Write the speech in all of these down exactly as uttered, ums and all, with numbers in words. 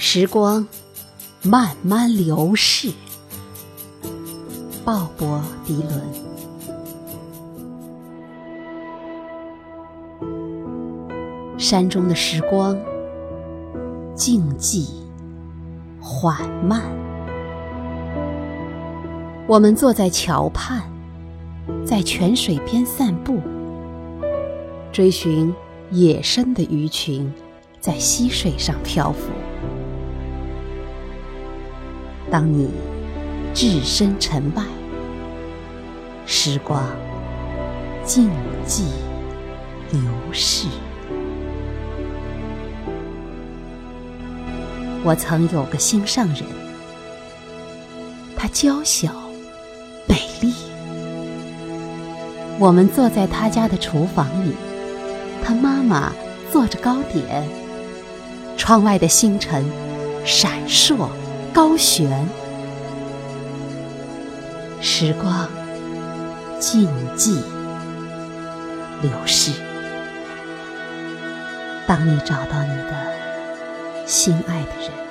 时光慢慢流逝。鲍勃·迪伦。山中的时光静寂缓慢，我们坐在桥畔，在泉水边散步，追寻野生的鱼群在溪水上漂浮。当你置身尘外，时光静寂流逝。我曾有个心上人，她娇小美丽。我们坐在她家的厨房里，她妈妈做着糕点，窗外的星辰闪烁高悬。时光静寂流逝。当你找到你的心爱的人，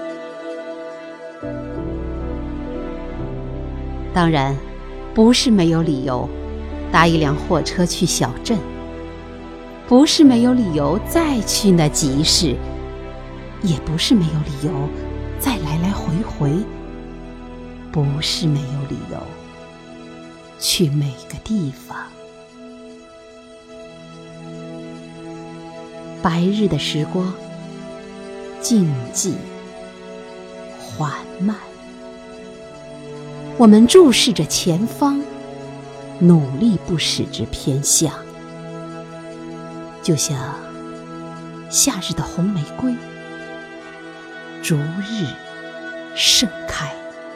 当然不是没有理由搭一辆货车去小镇，不是没有理由再去那集市，也不是没有理由再来来回回，不是没有理由去每个地方。白日的时光静寂缓慢，我们注视着前方，努力不使之偏向，就像夏日的红玫瑰逐日盛开。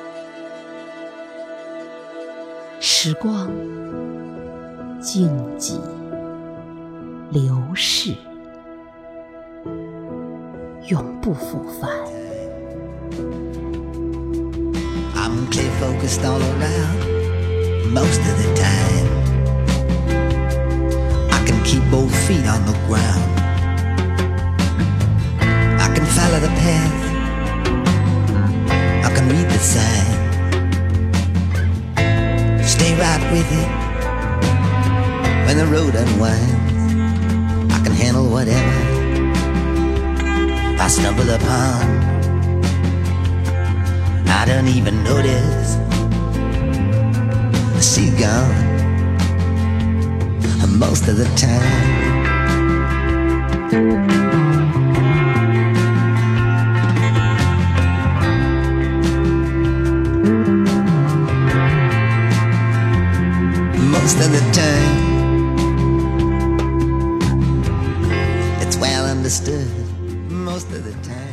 时光静寂流逝，永不复返。 I'm clear focused all around most of the time. I can keep both feet on the ground. I can follow the path. I can read the sign. Stay right with it when the road unwinds. I can handle whatever I stumble upon. I don't even notice the sea gone most of the time. Most of the time, it's well understood. Most of the time.